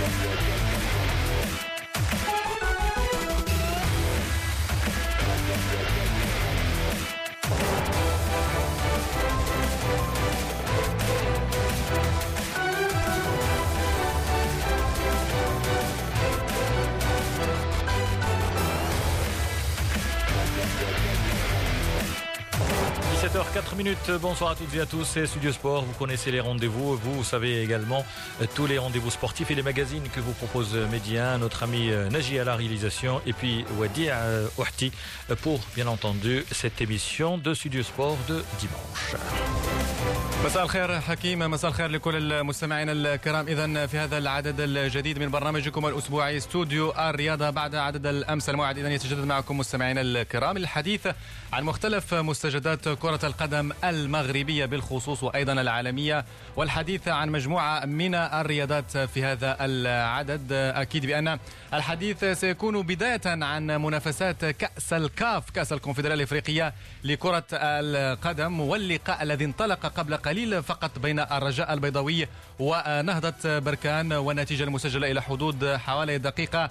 17h04. Bonsoir à toutes et à tous, c'est Studio Sport. Vous connaissez les rendez-vous. Vous savez également tous les rendez-vous sportifs et les magazines que vous propose Média. Notre ami Naji à la réalisation et puis Wadi Ouhti pour bien entendu cette émission de Studio Sport de dimanche. مساء الخير حكيم، مساء الخير لكل المستمعين الكرام. إذن في هذا العدد الجديد من برنامجكم الأسبوعي استوديو الرياضة بعد عدد الأمس الموعد إذن يتجدد معكم مستمعين الكرام الحديث عن مختلف مستجدات كرة القدم المغربية بالخصوص وأيضا العالمية، والحديث عن مجموعة من الرياضات في هذا العدد. أكيد بأن الحديث سيكون بداية عن منافسات كأس الكاف، كأس الكونفدرالية الإفريقية لكرة القدم، واللقاء الذي انطلق قبل قليل فقط بين الرجاء البيضاوي ونهضة بركان، والنتيجة المسجلة إلى حدود حوالي الدقيقة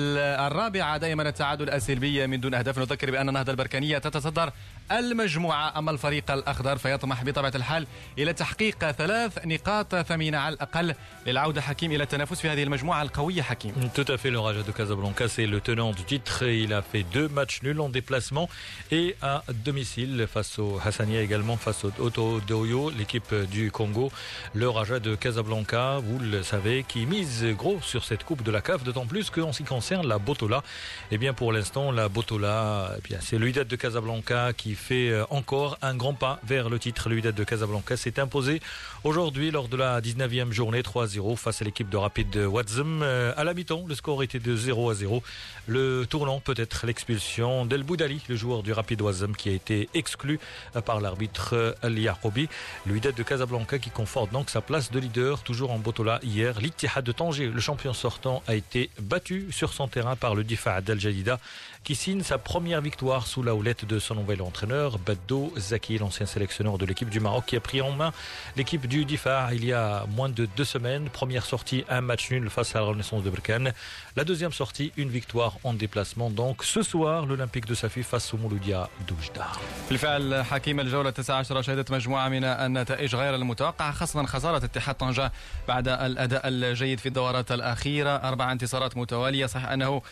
الرابعة دائما التعادل السلبي من دون أهداف. نذكر بأن النهضة البركانية تتصدر المجموعة، أما الفريق الأخضر فيطمح بطبيعة الحال إلى تحقيق 3 نقاط ثمينة على الأقل للعودة حكيم إلى التنافس في هذه المجموعة القوية. حكيم Tout à fait, le Raja de Casablanca c'est le tenant du titre. Il a fait 2 matchs nuls en déplacement et à domicile face au Hassania, également face au Auto Doyo, l'équipe du Congo. Le Raja de Casablanca, vous le savez, qui mise gros sur cette coupe de la CAF, d'autant plus qu'en ce qui concerne la Botola, eh bien pour l'instant la Botola, eh bien c'est le Wydad de Casablanca qui fait encore un grand pas vers le titre. Le Wydad de Casablanca s'est imposé aujourd'hui lors de la 19e journée 3-0 face à l'équipe de Rapid Ouazzem. À la mi-temps, le score était de 0-0. Le tournant peut-être l'expulsion d'El Boudali, le joueur du Rapid Ouazzem qui a été exclu par l'arbitre El Yaqoubi. Le Wydad de Casablanca qui conforte donc sa place de leader toujours en Botola. Hier, l'Ittihad de Tanger, le champion sortant, a été battu sur son terrain par le Difa' d'Al Jadida qui signe sa première victoire sous la houlette de son nouvel entraîneur Baddo Zaki, l'ancien sélectionneur de l'équipe du Maroc qui a pris en main l'équipe du Difa' il y a moins de 2 semaines. Première sortie, un match nul face à la Renaissance de Berkane. La deuxième sortie, une victoire en déplacement. Donc ce soir, l'Olympique de Safi face au Mouloudia d'Oujda. بالفعل حكيم الجولة 19 شهدت مجموعة من النتائج غير المتوقعة، خاصة خسارة اتحاد طنجة بعد الأداء الجيد في الدورات الأخيرة، 4 انتصارات متوالية. صحيح أنه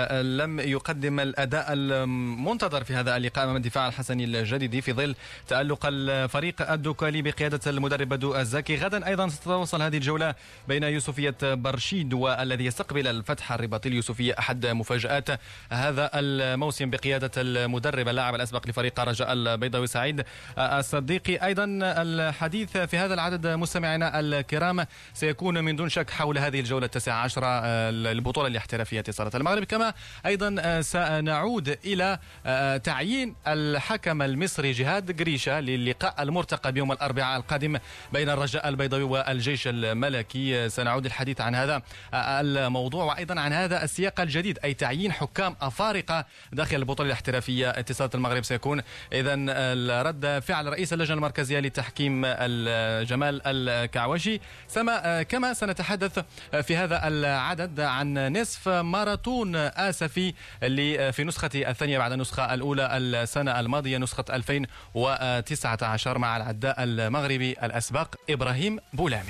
لم يقدم الأداء المنتظر في هذا اللقاء أمام الدفاع الحسني الجديدي في ظل تألق الفريق الدوكالي بقيادة المدرب بدو الزكي. غدا أيضا ستتواصل هذه الجولة بين يوسفية برشيد والذي يستقبل الفتح الرباطي. اليوسفية أحد مفاجآت هذا الموسم بقيادة المدرب اللاعب الأسبق لفريق رجاء البيضاوي سعيد الصديقي. أيضا الحديث في هذا العدد مستمعينا الكرام سيكون من دون شك حول هذه الجولة 19 البطولة الاحترافية اتصالات المغرب، كما أيضا سنعود إلى تعيين الحكم المصري جهاد قريشة للقاء المرتقب يوم الأربعاء القادم بين الرجاء البيضاوي والجيش الملكي. سنعود الحديث عن هذا الموضوع وأيضا عن هذا السياق الجديد، أي تعيين حكام أفارقة داخل البطولة الاحترافية اتصالات المغرب. سيكون إذن رد فعل رئيس اللجنة المركزية للتحكيم جمال الكعوشي. كما سنتحدث في هذا العدد عن نصف ماراثون آسفي اللي في نسخة الثانية بعد النسخة الأولى السنة الماضية نسخة 2019 مع العداء المغربي الأسبق إبراهيم بولامي.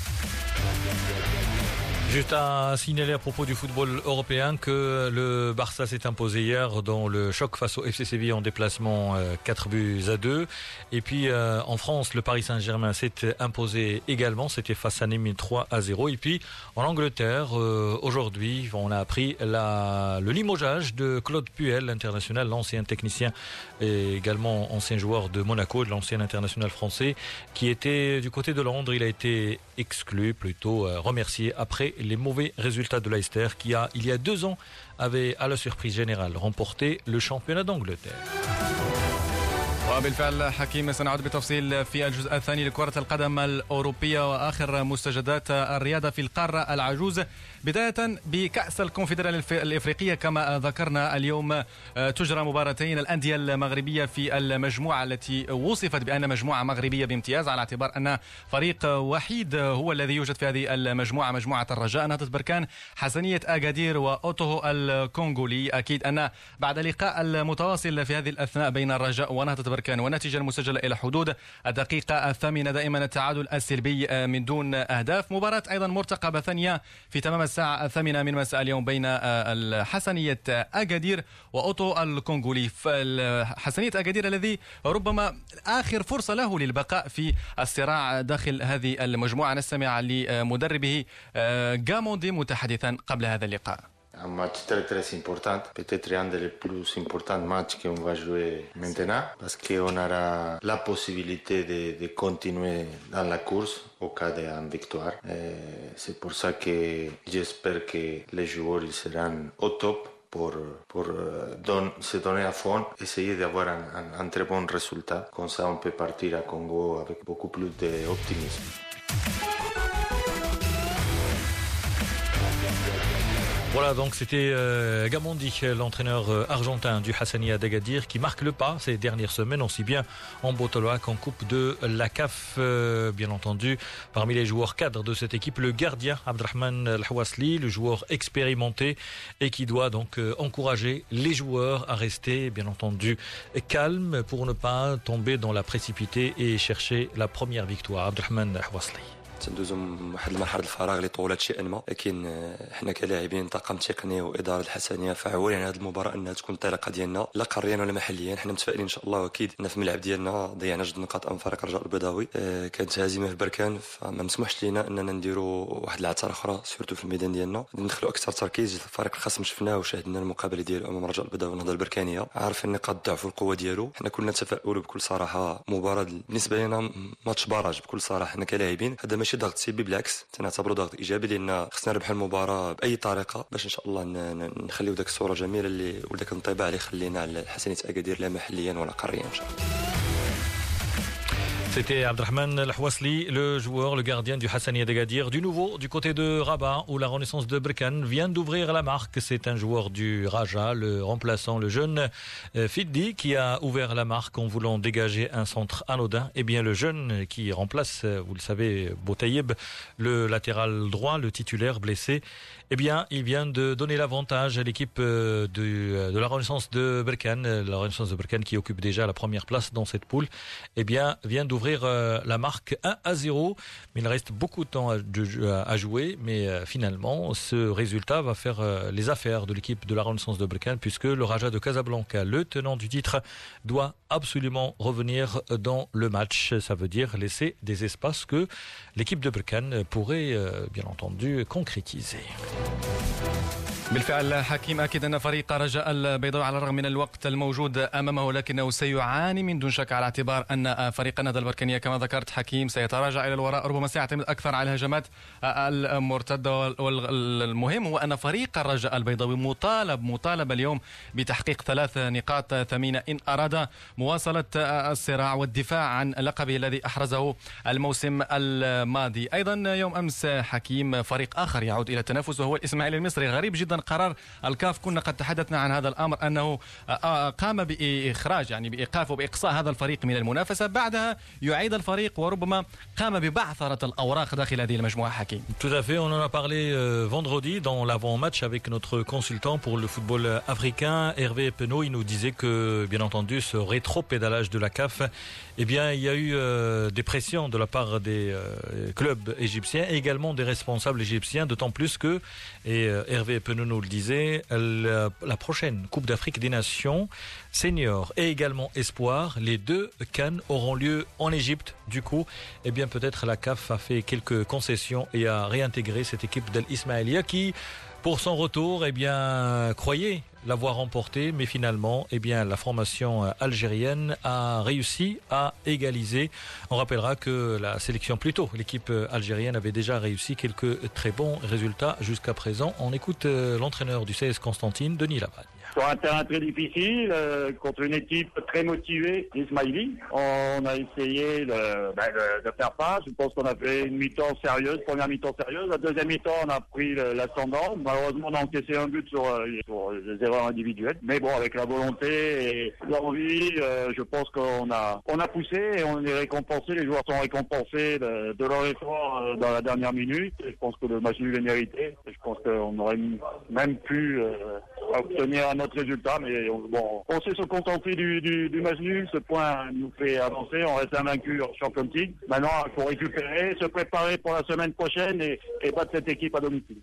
Juste à signaler à propos du football européen que le Barça s'est imposé hier dans le choc face au FC Séville en déplacement 4-2. Et puis en France, le Paris Saint-Germain s'est imposé également, c'était face à Nîmes 3-0. Et puis en Angleterre, aujourd'hui, on a appris le limogeage de Claude Puel, l'international, l'ancien technicien et également ancien joueur de Monaco, de l'ancien international français, qui était du côté de Londres. Il a été exclu, plutôt remercié après les mauvais résultats de Leicester qui il y a 2 ans avait à la surprise générale remporté le championnat d'Angleterre. وبالفعل حكيم سنعود بتفصيل في الجزء الثاني لكرة القدم الأوروبية وآخر مستجدات الرياضة في القارة العجوز، بداية بكأس الكونفدرالية الإفريقية. كما ذكرنا اليوم تجرى مباراتين الأندية المغربية في المجموعة التي وصفت بأن مجموعة مغربية بامتياز، على اعتبار أن فريق وحيد هو الذي يوجد في هذه المجموعة، مجموعة الرجاء، نهضة بركان، حسنية أكادير وأوتوهو الكونغولي. أكيد أن بعد اللقاء المتواصل في هذه الأثناء بين الرجاء ونهضة بركان والنتيجة المسجلة إلى حدود الدقيقة الثامنة دائما التعادل السلبي من دون أهداف، مباراة أيضا مرتقبة ثانية في تمام الساعة الثامنة من مساء اليوم بين حسنية أكادير وأوتو الكونغولي. حسنية أكادير الذي ربما آخر فرصة له للبقاء في الصراع داخل هذه المجموعة. نستمع لمدربه غاموندي متحدثا قبل هذا اللقاء. Un match très très important, peut-être un des plus importants matchs qu'on va jouer maintenant, parce qu'on aura la possibilité de continuer dans la course au cas d'une victoire. C'est pour ça que j'espère que les joueurs ils seront au top pour se donner à fond, essayer d'avoir un très bon résultat. Comme ça on peut partir à Congo avec beaucoup plus d'optimisme. Voilà, donc c'était Gamondi, l'entraîneur argentin du Hassania d'Agadir, qui marque le pas ces dernières semaines, aussi bien en Botola qu'en Coupe de la CAF. Bien entendu, parmi les joueurs cadres de cette équipe, le gardien Abdrahman El-Hawasli, le joueur expérimenté et qui doit donc encourager les joueurs à rester, bien entendu, calmes pour ne pas tomber dans la précipité et chercher la première victoire. Abdrahman El-Hawasli. تندوزو واحد المرحله الفراغ اللي طولت شيئا ما، لكن حنا كلاعبين طاقم تقني واداره الحسنيه فعولين على هذه المباراه انها تكون الطريقه ديالنا لا قاريا ولا محليا. حنا متفائلين ان شاء الله، واكيد ان في الملعب ديالنا ضيعنا جوج نقاط امام فريق الرجاء البيضاوي. كانت هزيمه في بركان، فما مسموحش لينا اننا نديروا واحد العثره اخرى سورتو في الميدان ديالنا، ندخلوا اكثر تركيز. الفريق الخصم شفناه وشاهدنا المقابله ديالو امام الرجاء البيضاوي والنهضه البركانيه، عارفين نقاط الضعف والقوه ديالو. حنا كنا نتفائلوا بكل صراحه، مباراه بالنسبه لنا ماتش باراج بكل صراحه. حنا كلاعبين هذا ماشي ضغط سلبي، بالعكس تنعتبروا ضغط ايجابي، لان خصنا نربح المباراه باي طريقه باش ان شاء الله نخليو داك الصوره جميله اللي وداك الانطباع اللي خلينا على حسنيه اكادير لا محليا ولا قاريا ان شاء الله. C'était Abdrahman El-Hawasli, le joueur, le gardien du Hassania d'Agadir. Du nouveau, du côté de Rabat, où la Renaissance de Berkane vient d'ouvrir la marque. C'est un joueur du Raja, le remplaçant, le jeune Fiddi, qui a ouvert la marque en voulant dégager un centre anodin. Eh bien, le jeune qui remplace, vous le savez, Boutayeb, le latéral droit, le titulaire blessé, eh bien, il vient de donner l'avantage à l'équipe de la Renaissance de Berkane. La Renaissance de Berkane qui occupe déjà la première place dans cette poule, eh bien, vient d'ouvrir la marque 1-0. Mais il reste beaucoup de temps à jouer. Mais finalement, ce résultat va faire les affaires de l'équipe de la Renaissance de Berkane, puisque le Raja de Casablanca, le tenant du titre, doit absolument revenir dans le match. Ça veut dire laisser des espaces que l'équipe de Berkane pourrait, bien entendu, concrétiser. بالفعل حكيم، أكيد أن فريق رجاء البيضاوي على الرغم من الوقت الموجود أمامه لكنه سيعاني من دون شك، على اعتبار أن فريق النهضة البركانية كما ذكرت حكيم سيتراجع إلى الوراء، ربما سيعتمد أكثر على الهجمات المرتدة. والمهم هو أن فريق الرجاء البيضاوي مطالب اليوم بتحقيق 3 نقاط ثمينة إن أراد مواصلة الصراع والدفاع عن لقبه الذي أحرزه الموسم الماضي. أيضا يوم أمس حكيم فريق آخر يعود إلى التنافس وهو الإسماعيلي المصري. غريب جدا قرار الكاف، كنا قد تحدثنا عن هذا الأمر أنه قام بإخراج يعني بإيقاف وبإقصاء هذا الفريق من المنافسة، بعدها يعيد الفريق وربما قام ببعثرة الأوراق داخل هذه المجموعة حكيم. Tout à fait, on en a parlé vendredi dans l'avant-match avec notre consultant pour le football africain, Hervé Penaud. Il nous disait que, bien entendu, ce rétro-pédalage de la CAF, eh bien, il y a eu des pressions de la part des clubs égyptiens et également des responsables égyptiens, d'autant plus que, et Hervé Penaud nous le disait, la prochaine Coupe d'Afrique des Nations senior et également espoir, les deux CAN auront lieu en Égypte. Du coup, eh bien, peut-être la CAF a fait quelques concessions et a réintégré cette équipe d'Al Ismaïlia qui, pour son retour, eh bien, croyait l'avoir remporté, mais finalement, eh bien, la formation algérienne a réussi à égaliser. On rappellera que la sélection, plutôt l'équipe algérienne, avait déjà réussi quelques très bons résultats jusqu'à présent. On écoute l'entraîneur du CS Constantine, Denis Lavagne. sur un terrain très difficile, contre une équipe très motivée, l'Ismaïli. On a essayé de faire face. Je pense qu'on a fait une mi-temps sérieuse, première mi-temps sérieuse. La deuxième mi-temps, on a pris l'ascendant. Malheureusement, on a encaissé un but sur les erreurs individuelles. Mais bon, avec la volonté et l'envie, je pense qu'on a poussé et on est récompensé. Les joueurs sont récompensés de leur effort dans la dernière minute. Et je pense que le match nul est mérité. Je pense qu'on aurait même pu obtenir un autre résultat, mais on sait se contenter du match nul. Ce point nous fait avancer. On reste invaincu en Champions League. Maintenant, il faut récupérer, se préparer pour la semaine prochaine et battre cette équipe à domicile.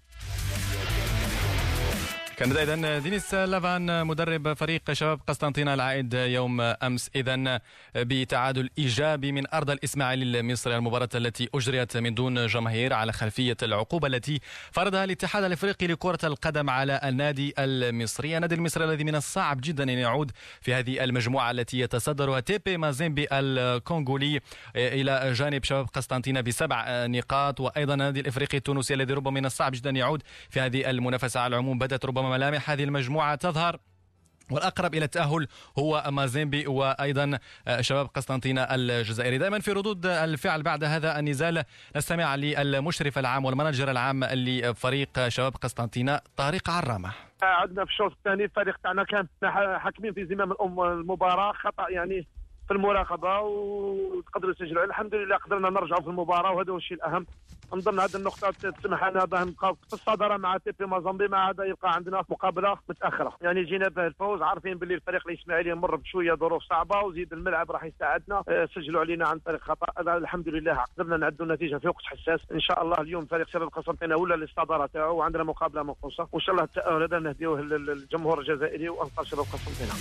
كان إذن دينيس لافان مدرب فريق شباب قسطنطينة العائد يوم أمس إذن بتعادل إيجابي من أرض الإسماعيلي المصري، المباراة التي أجريت من دون جماهير على خلفية العقوبة التي فرضها الاتحاد الأفريقي لكرة القدم على النادي المصري. النادي المصري الذي من الصعب جدا أن يعود في هذه المجموعة التي يتصدرها تيبي مازيمبي الكونغولي إلى جانب شباب قسطنطينة ب7 نقاط، وأيضا النادي الأفريقي التونسي الذي ربما من الصعب جدا أن يعود في هذه المنافسة. على العموم بدأت ربما ملامح هذه المجموعة تظهر، والأقرب إلى التأهل هو مازيمبي وأيضا شباب قسطنطينة الجزائري. دائما في ردود الفعل بعد هذا النزال نستمع للمشرف العام والمناجر العام لفريق شباب قسطنطينة طارق عرامة. عندنا في الشوط الثاني الفريق تاعنا كان حاكمين في زمام المباراة، خطأ يعني في المراقبة وتقدروا يسجلوا. الحمد لله قدرنا نرجعوا في المباراة وهذا هو الشيء الأهم. نظن هذه النقطة تسمح لنا بأن نبقاو في الصدارة مع تيبي مازامبي، مع هذا يبقى عندنا مقابلة متأخرة. يعني جينا بالفوز عارفين باللي الفريق الإسماعيلي مر بشوية ظروف صعبة وزيد الملعب راح يساعدنا. سجلوا علينا عن طريق خطأ، الحمد لله قدرنا نعدوا النتيجة في وقت حساس. إن شاء الله اليوم فريق شباب قسطنطينة ولا للصدارة تاعو وعندنا مقابلة منقوصة، وإن شاء الله التأهل هذا نهديوه للجمهور الجزائري وأنصار شباب قسطنطينة.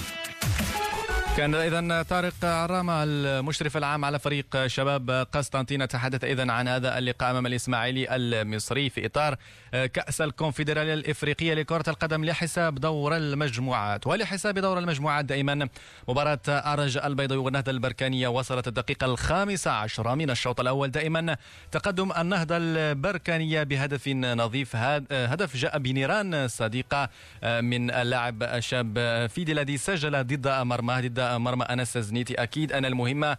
كان إذن طارق عرامة المشرف العام على فريق شباب قسطنطينة تحدث إذن عن هذا اللقاء أمام الإسماعيلي المصري في إطار كأس الكونفدرالية الإفريقية لكرة القدم لحساب دور المجموعات. ولحساب دور المجموعات دائما مباراة الرجاء البيضاوي والنهضة البركانية وصلت الدقيقة 15 من الشوط الأول. دائما تقدم النهضة البركانية بهدف نظيف، هدف جاء بنيران صديقة من اللاعب الشاب فيدي الذي سجل ضد مرمى أنس زنيتي. أكيد أن المهمة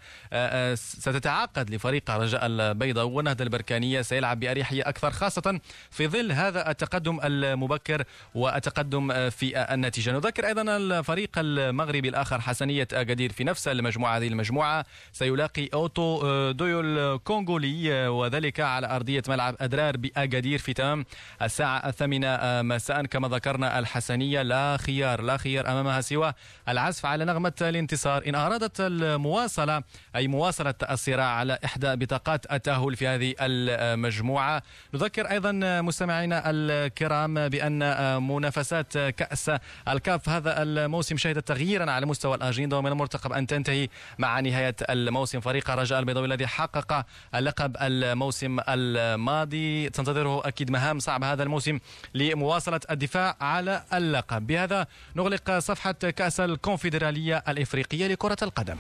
ستتعقد لفريق الرجاء البيضاوي والنهضة البركانية، سيلعب بأريحية أكثر خاصة في ظل هذا التقدم المبكر والتقدم في النتيجة. نذكر أيضا الفريق المغربي الآخر حسنية أكادير في نفس المجموعة، هذه المجموعة سيلاقي أوتو دويو الكونغولي وذلك على أرضية ملعب أدرار بأكادير في تمام الساعة 8 مساء. كما ذكرنا الحسنية لا خيار أمامها سوى العزف على نغمة الانتصار إن أرادت المواصلة، أي مواصلة الصراع على إحدى بطاقات التأهل في هذه المجموعة. نذكر أيضا مستمعينا الكرام بأن منافسات كأس الكاف هذا الموسم شهدت تغييرا على مستوى الأجندة، ومن المرتقب أن تنتهي مع نهاية الموسم. فريق الرجاء البيضاوي الذي حقق اللقب الموسم الماضي تنتظره أكيد مهام صعبة هذا الموسم لمواصلة الدفاع على اللقب. بهذا نغلق صفحة كأس الكونفدرالية الإفريقية لكرة القدم.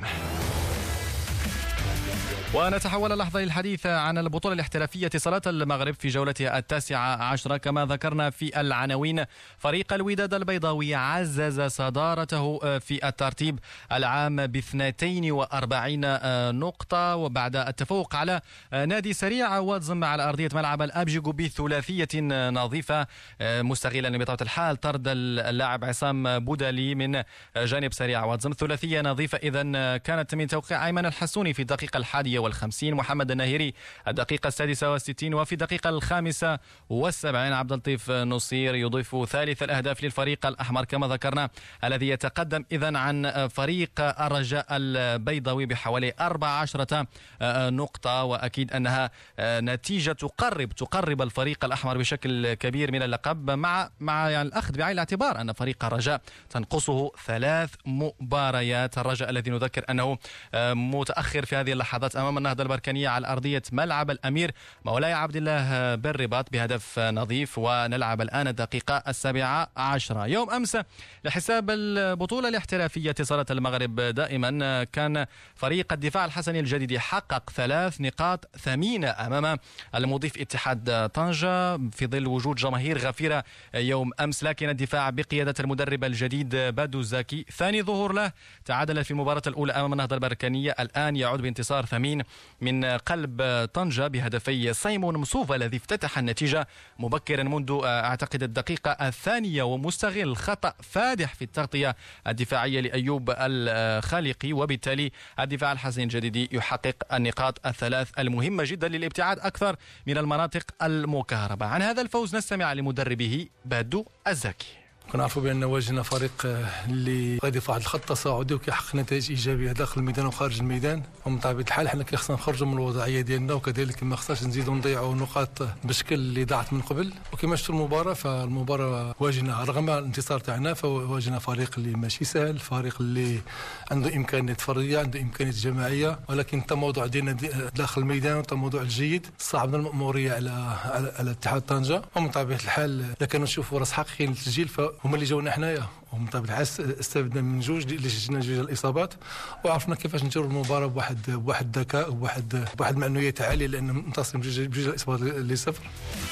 ونتحول اللحظة للحديث عن البطولة الاحترافية اتصالات المغرب في جولتها 19. كما ذكرنا في العناوين، فريق الوداد البيضاوي عزز صدارته في الترتيب العام ب42 نقطة، وبعد التفوق على نادي سريع واتزم على أرضية ملعب الأبجيغو بثلاثية نظيفة، مستغلا بطبيعة الحال طرد اللاعب عصام بودلي من جانب سريع واتزم. ثلاثية نظيفة إذن كانت من توقيع أيمن الحسوني في الدقيقة 51، محمد الناهيري الدقيقة 66، وفي الدقيقة 75 عبد اللطيف نصير يضيف ثالث الأهداف للفريق الأحمر كما ذكرنا، الذي يتقدم إذن عن فريق الرجاء البيضاوي بحوالي 14 نقطة. وأكيد أنها نتيجة تقرب الفريق الأحمر بشكل كبير من اللقب، مع يعني الأخذ بعين الاعتبار أن فريق الرجاء تنقصه 3 مباريات. الرجاء الذي نذكر أنه متأخر في هذه اللحظات أمام أمام النهضة البركانية على أرضية ملعب الأمير مولاي عبد الله بالرباط بهدف نظيف. ونلعب الآن الدقيقة 17. يوم أمس لحساب البطولة الاحترافية اتصالات المغرب دائما كان فريق الدفاع الحسني الجديد حقق 3 نقاط ثمينة أمام المضيف اتحاد طنجة في ظل وجود جماهير غفيرة يوم أمس. لكن الدفاع بقيادة المدرب الجديد بادو زكي ثاني ظهور له تعادل في المباراة الأولى أمام النهضة البركانية، الآن يعود بانتصار ثمين من قلب طنجة بهدفي سيمون مصوفة الذي افتتح النتيجة مبكرا منذ أعتقد الدقيقة 2 ومستغل خطأ فادح في التغطية الدفاعية لأيوب الخالقي، وبالتالي الدفاع الحسني الجديد يحقق النقاط 3 المهمة جدا للابتعاد أكثر من المناطق المكهربة. عن هذا الفوز نستمع لمدربه بادو الزكي. كنعرفوا بأن واجهنا فريق اللي غادي في واحد الخط تصاعدي وكيحقق نتائج إيجابية داخل الميدان وخارج الميدان، ومن طبيعة الحال حنا كيخصنا نخرجوا من الوضعية ديالنا، وكذلك ما خصناش نزيدوا نضيعوا نقاط بالشكل اللي ضاعت من قبل. وكما شفتوا المباراة، فالمباراة واجهنا رغم الانتصار تاعنا فواجهنا فريق اللي ماشي سهل، فريق اللي عنده إمكانيات فردية، عنده إمكانيات جماعية، ولكن التموضع ديالنا داخل الميدان والتموضع الجيد صعبنا المأمورية على اتحاد طنجة. ومن طبيعة الحال إذا كانوا نشوفوا فرص حقيقية للتسجيل هما اللي جاونا حنايا، ومن طبيعة الحال استفدنا من جوج اللي جينا جوج الإصابات، وعرفنا كيفاش نديروا المباراة بواحد الذكاء وبواحد معنويات عالية، لأن منتصرين بجوج الإصابات لصفر.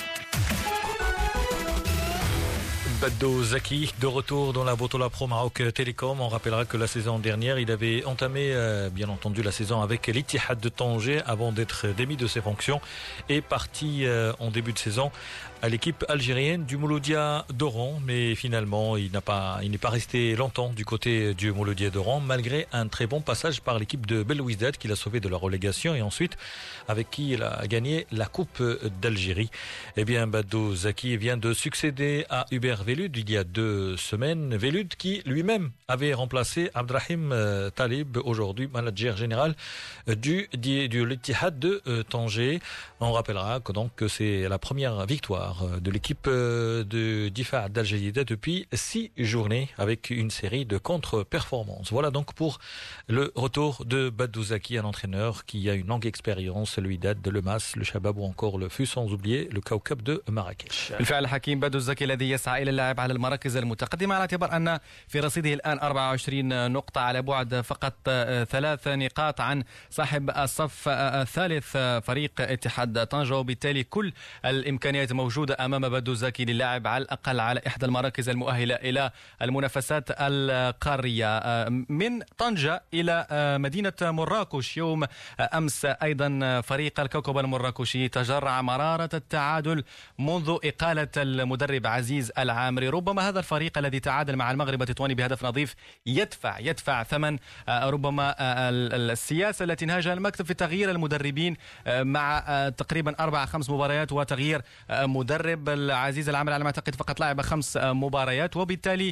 Badou Zaki, de retour dans la Botola Pro Maroc Télécom. On rappellera que la saison dernière, il avait entamé, bien entendu, la saison avec l'Ittihad de Tanger avant d'être démis de ses fonctions et parti en début de saison à l'équipe algérienne du Mouloudia d'Oran. Mais finalement, il n'est pas resté longtemps du côté du Mouloudia d'Oran, malgré un très bon passage par l'équipe de Belouizdad qui l'a sauvé de la relégation et ensuite avec qui il a gagné la Coupe d'Algérie. Eh bien, Badou Zaki vient de succéder à Hubert Velud il y a 2 semaines. Velud qui lui-même avait remplacé Abdrahim Talib, aujourd'hui manager général du l'Ittihad de Tanger. On rappellera que c'est la première victoire de l'équipe de Difa d'Al-Jadida depuis 6 journées avec une série de contre-performances. Voilà donc pour le retour de Badou Zaki, un entraîneur qui a une longue expérience, le Wydad, le Mas, le Shabab ou encore le FUS, sans oublier le Kaukab de Marrakech. بالفعل حكيم بادو الزكي الذي يسعى إلى اللعب على المراكز المتقدمة على اعتبار أن في رصيده الآن 24 نقطة على بعد فقط 3 نقاط عن صاحب الصف الثالث فريق اتحاد طنجة، وبالتالي كل الإمكانيات موجودة أمام بادو الزكي للعب على الأقل على إحدى المراكز المؤهلة إلى المنافسات القارية. من طنجة إلى مدينة مراكش يوم أمس أيضا فريق الكوكب المراكشي تجرع مرارة التعادل منذ إقالة المدرب عزيز العامري. ربما هذا الفريق الذي تعادل مع المغرب التطواني بهدف نظيف يدفع ثمن ربما السياسة التي نهجها المكتب في تغيير المدربين مع تقريبا 4-5 مباريات وتغيير مدرب. العزيز العامري على ما أعتقد فقط لعب 5 مباريات، وبالتالي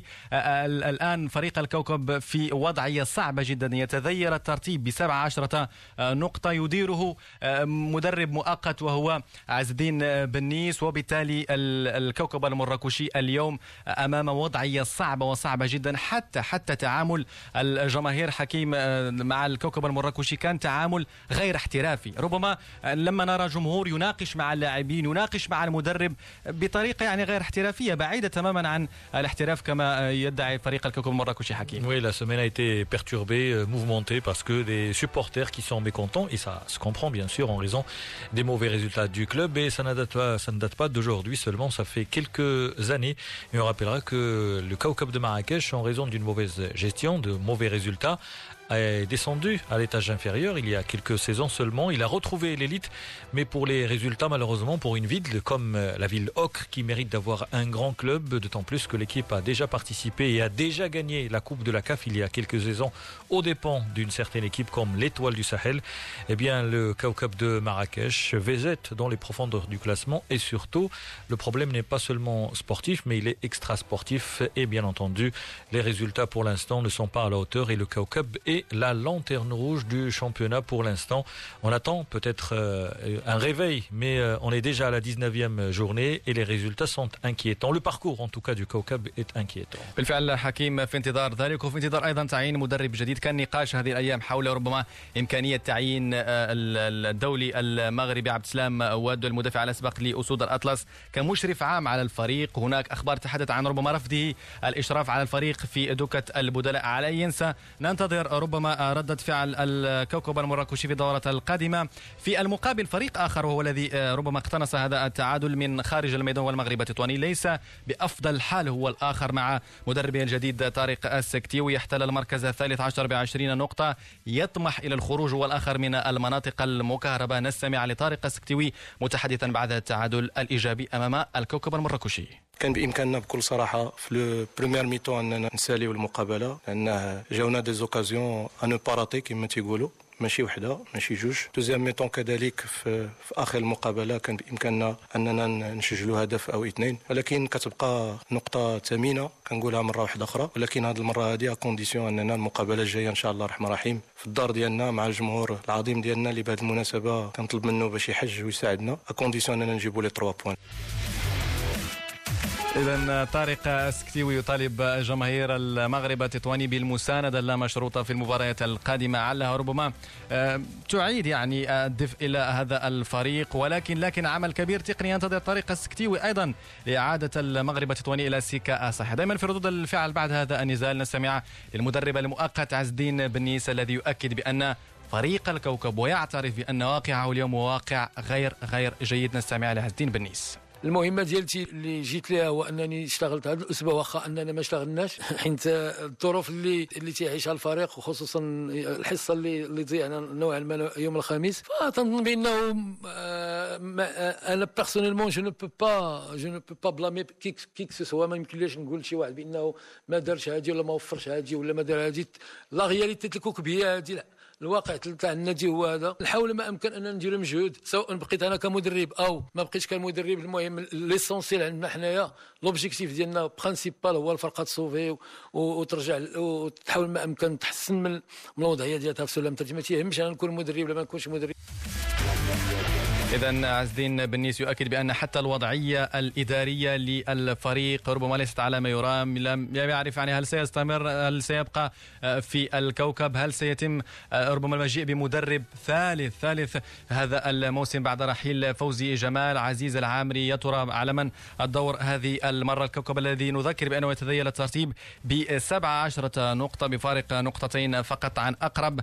الآن فريق الكوكب في وضعية صعبة جدا، يتذير الترتيب ب17 نقطة، يديره مدرب مؤقت وهو عز الدين بنيس، وبالتالي الكوكب المراكشي اليوم أمام وضعية صعبة جدا. حتى تعامل الجماهير حكيم مع الكوكب المراكشي كان تعامل غير احترافي. ربما لما نرى جمهور يناقش مع اللاعبين، يناقش مع المدرب بطريقة يعني غير احترافية، بعيدة تماما عن الاحتراف كما يدعي فريق الكوكب المراكشي حكيم. Oui, la semaine a été perturbée, mouvementée parce que des supporters qui sont mécontents, et ça se comprend bien sûr en raison des mauvais résultats du club, et ça ne date pas d'aujourd'hui seulement, ça fait quelques années. Et on rappellera que le Kaukab de Marrakech, en raison d'une mauvaise gestion, de mauvais résultats, est descendu à l'étage inférieur il y a quelques saisons seulement. Il a retrouvé l'élite, mais pour les résultats, malheureusement, pour une ville comme la ville Ocre, qui mérite d'avoir un grand club, d'autant plus que l'équipe a déjà participé et a déjà gagné la Coupe de la CAF il y a quelques saisons aux dépens d'une certaine équipe comme l'Étoile du Sahel. Eh bien, le Kaukab de Marrakech végète dans les profondeurs du classement, et surtout, le problème n'est pas seulement sportif, mais il est extra-sportif, et bien entendu, les résultats pour l'instant ne sont pas à la hauteur, et le Kaukab est est la lanterne rouge du championnat pour l'instant. On attend peut-être un réveil, mais on est déjà à la 19e journée et les résultats sont inquiétants. Le parcours en tout cas du كوكب est inquiétant. بالفعل حكيم في انتظار ذلك، وفي انتظار أيضا تعيين مدرب جديد. كان نقاش هذه الأيام حول ربما إمكانية تعيين الدولي المغربي عبد السلام واد المدافع الأسبق لأسود الأطلس كمشرف عام على الفريق. هناك أخبار تحدث عن ربما رفضه الإشراف على الفريق في دوكة البدلاء. على أي ينسى ننتظر ربما ردة فعل الكوكب المراكشي في الدورة القادمة. في المقابل فريق آخر وهو الذي ربما اقتنص هذا التعادل من خارج الميدان والمغرب التطواني ليس بأفضل حال، هو الآخر مع مدربه الجديد طارق السكتيوي، يحتل المركز 13 ب20 نقطة، يطمح إلى الخروج والآخر من المناطق المكهربة. نستمع لطارق السكتيوي متحدثا بعد التعادل الإيجابي أمام الكوكب المراكشي. كان بإمكاننا بكل صراحة في لو بريمير ميتون أننا نساليو المقابلة، لأن جاونا دي زوكازيون أنو باراتي كما تيقولوا، ماشي وحده ماشي جوج. دوزيام ميتون كذلك في آخر المقابلة كان بإمكاننا أننا نسجلوا هدف أو اثنين، ولكن كتبقى نقطة ثمينة كنقولها مرة واحدة أخرى. ولكن هذه المرة هذه كونديسيون أننا المقابلة الجاية إن شاء الله الرحمن الرحيم في الدار ديالنا مع الجمهور العظيم ديالنا اللي بهذه المناسبة كنطلب منه باش يحج ويساعدنا، كونديسيون أننا نجيبوا لي 3 بوان. إذن طارق السكتيوي يطالب جماهير المغرب التطواني بالمساندة اللامشروطة في المباريات القادمة، علها ربما تعيد يعني الدفء إلى هذا الفريق. ولكن عمل كبير تقني ينتظر طارق السكتيوي أيضا لإعادة المغرب التطواني إلى سكة صحيحة. دائما في ردود الفعل بعد هذا النزال نستمع للمدرب المؤقت عز الدين بنيس الذي يؤكد بأن فريق الكوكب ويعترف بأن واقعه اليوم واقع غير جيد. نستمع لعز الدين بنيس. المهمه ديالتي اللي جيت لها هو انني اشتغلت هذا الاسبوع واخا اننا ما اشتغلناش، حيت الظروف اللي تعيشها الفريق وخصوصا الحصه اللي ضيعنا نوعا ما يوم الخميس، فظن بانه انا بيرسونيلمون جو نو با بلامي كيك سوا. ما يمكنليش نقول لشي واحد بانه ما دارش هذه ولا ما وفرش هذه ولا ما دار هذه. لا رياليتي الكوكبيه هذه، الواقع تاع النادي هو هذا. نحاول ما امكن اننا نديروا مجهود، سواء بقيت انا كمدرب او ما بقيتش كمدرب. المهم ليسونسيال عندنا حنايا لوبجيكتيف ديالنا برينسيبال هو الفرقه تصوفي وترجع وتحاول ما امكن تحسن من الوضعيه ديالها في سلم الترجمه. ما تيهمش انا نكون مدرب ولا ما نكونش مدرب. إذن عز الدين بنيس يؤكد بأن حتى الوضعية الإدارية للفريق ربما ليست على ما يرام. لم يعرف يعني هل سيستمر، هل سيبقى في الكوكب، هل سيتم ربما المجيء بمدرب ثالث هذا الموسم بعد رحيل فوزي جمال. عزيز العامري يا ترى على من الدور هذه المرة؟ الكوكب الذي نذكر بأنه يتذيل الترتيب ب17 نقطة بفارق نقطتين فقط عن أقرب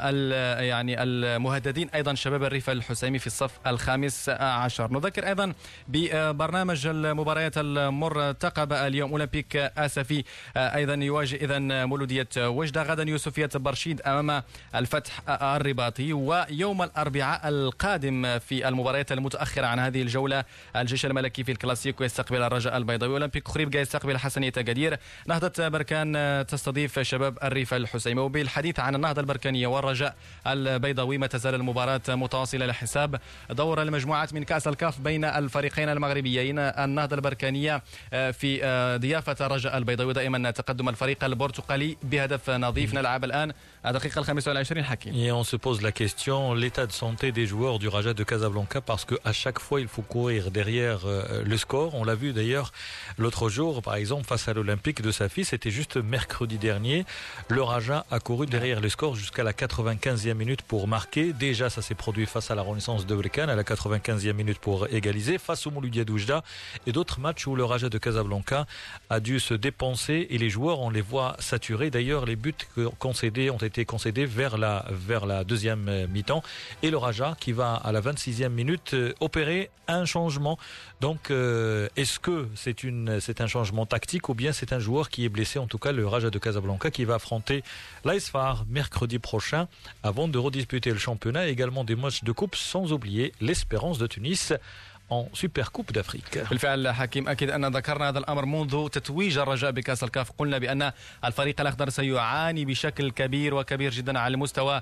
يعني المهددين أيضا شباب الريف الحسيمي في الصف الخامس عشر. نذكر أيضا ببرنامج المباريات المرتقبة اليوم أولمبيك آسفي أيضا يواجه إذن مولودية وجدة، غدا يوسفية برشيد أمام الفتح الرباطي، ويوم الأربعاء القادم في المباريات المتأخرة عن هذه الجولة الجيش الملكي في الكلاسيكو يستقبل الرجاء البيضاوي، أولمبيك خريبكا يستقبل حسنية أكادير، نهضة بركان تستضيف شباب الريف الحسيمي. وبالحديث عن النهضة البركانية والرجاء البيضاوي ما تزال المباراة متواصلة لحساب دور المجموعات من كأس الكاف بين الفريقين المغربيين. النهضة البركانية في ضيافة الرجاء البيضاوي، دائما تقدم الفريق البرتقالي بهدف نظيف. نلعب الآن الدقيقة 25 حكيم. Et on se pose la question, l'état de santé des joueurs du Raja de Casablanca, parce qu'à chaque fois il faut courir derrière le score. On l'a vu d'ailleurs l'autre jour, par exemple face à l'Olympique de Safi, c'était juste mercredi dernier. Le Raja a couru derrière le score jusqu'à la 95e minute pour marquer. Déjà ça s'est produit face à la Renaissance de Berkane à la 95e minute pour égaliser, face au Mouloudia d'Oujda, et d'autres matchs où le Raja de Casablanca a dû se dépenser et les joueurs on les voit saturés. D'ailleurs les buts concédés ont été concédés vers la deuxième mi-temps, et le Raja qui va à la 26e minute opérer un changement. Donc est-ce que c'est un changement tactique ou bien c'est un joueur qui est blessé? En tout cas le Raja de Casablanca qui va affronter l'Aisfar mercredi prochain avant de redisputer le championnat et également des matchs de coupe, sans oublier l'Espérance de Tunis en Super Coupe d'Afrique. بالفعل حكيم أكيد أن ذكرنا هذا الأمر منذ تتويج الرجاء بكأس الكاف. قلنا بأن الفريق الأخضر سيعاني بشكل كبير وكبير جدا على المستوى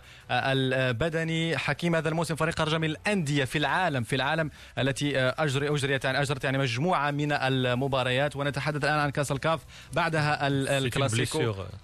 البدني. حكيم هذا الموسم فريق الرجاء من الأندية في العالم التي أجرت يعني مجموعة من المباريات، ونتحدث الآن عن كأس الكاف بعدها الكلاسيكو.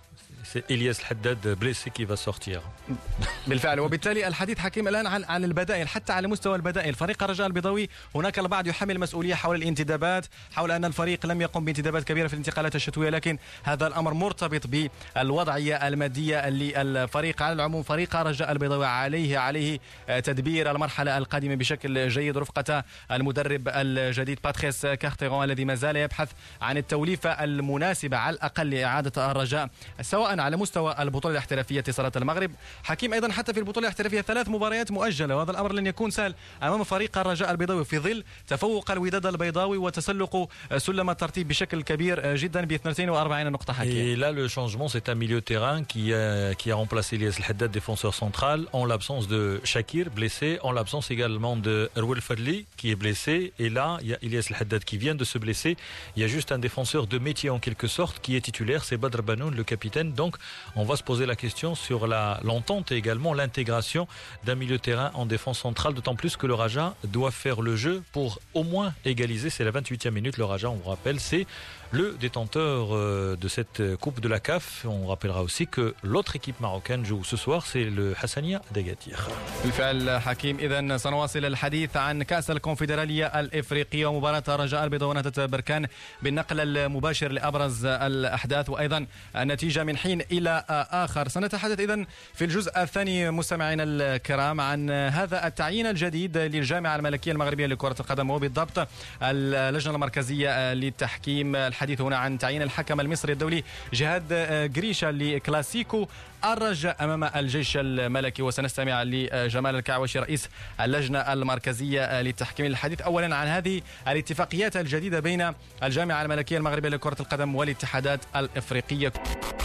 c'est Elias Haddad blessé qui va sortir. بالفعل. وبالتالي الحديث حكيم الآن عن البدائل، حتى على مستوى البدائل فريق الرجاء البيضاوي هناك البعض يحمل مسؤولية حول الانتدابات، حول أن الفريق لم يقم بانتدابات كبيرة في الانتقالات الشتوية، لكن هذا الأمر مرتبط بالوضعية المادية للفريق. على العموم فريق الرجاء البيضاوي عليه تدبير المرحلة القادمة بشكل جيد رفقة المدرب الجديد باتريس كارتيرون الذي ما زال يبحث عن التوليفة المناسبة على الأقل لإعادة الرجاء سواء على مستوى البطولة الاحترافية اتصالات المغرب. حكيم أيضا حتى في البطولة الاحترافية 3 مباريات مؤجلة، وهذا الأمر لن يكون سهل أمام فريق الرجاء البيضاوي في ظل تفوق الوداد البيضاوي وتسلق سلم الترتيب بشكل كبير جدا ب 42 نقطة. حكيم. Et là le changement c'est un milieu de terrain qui a remplacé Elias Haddad, défenseur central, en l'absence de Shakir blessé, en l'absence également de Rouel Fadli qui est blessé, et là il y a Elias Haddad qui vient de se blesser. Il y a juste un défenseur de métier en quelque sorte qui est titulaire, c'est Badr Banoun le capitaine. Donc on va se poser la question sur l'entente et également l'intégration d'un milieu de terrain en défense centrale, d'autant plus que le Raja doit faire le jeu pour au moins égaliser. C'est la 28e minute, le Raja, on vous rappelle, c'est le détenteur de cette coupe de la CAF. On rappellera aussi que l'autre équipe marocaine joue ce soir, c'est le Hassania d'Agadir. بالفعل حكيم. إذن سنواصل الحديث عن كأس الكونفدرالية الإفريقية ومباراة الرجاء البيضاوي ونهضة بركان بالنقل المباشر لأبرز الأحداث وأيضا النتيجة من حين إلى آخر. سنتحدث إذن في الجزء الثاني مستمعينا الكرام عن هذا التعيين الجديد للجامعة الملكية المغربية لكرة القدم وبالضبط اللجنة المركزية للتحكيم. الحديث هنا عن تعيين الحكم المصري الدولي جهاد قريشة لكلاسيكو الرجاء أمام الجيش الملكي، وسنستمع لجمال الكعوشي رئيس اللجنة المركزية للتحكيم للحديث أولا عن هذه الاتفاقيات الجديدة بين الجامعة الملكية المغربية لكرة القدم والاتحادات الإفريقية.